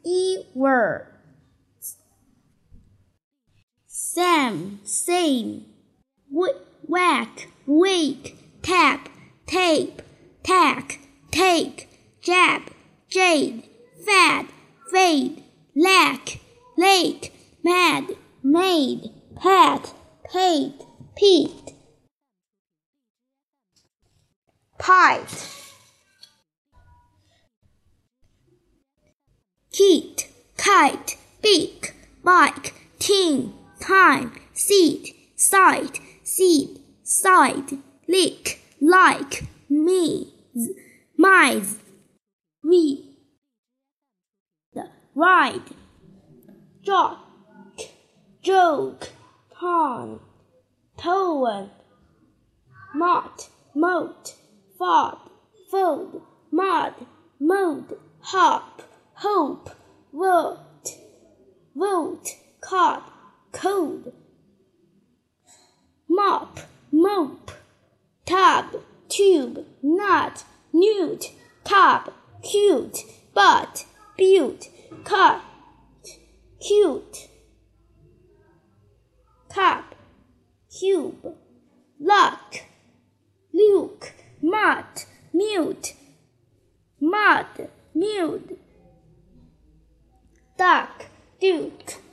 words. Same, whack, wake, tap, tape, tack, take, jab, jade, fad, fade, lack, lake, mad, made, pat, paid, peaked, piped, kite, kite, beak, bike, teen, time, seat, sight, seed, side, lick, like, mize, read, ride, jock, joke, pond, tone, mott, moat, fod, fold, mud, mode, hop, hope, vote, cod, code, mop, mope, tub, tube, nut, newt, tub, cute, butt, butte, cut, cute, cup, cube, luck, luke, mutt, mute, mud, mute, duck, duke,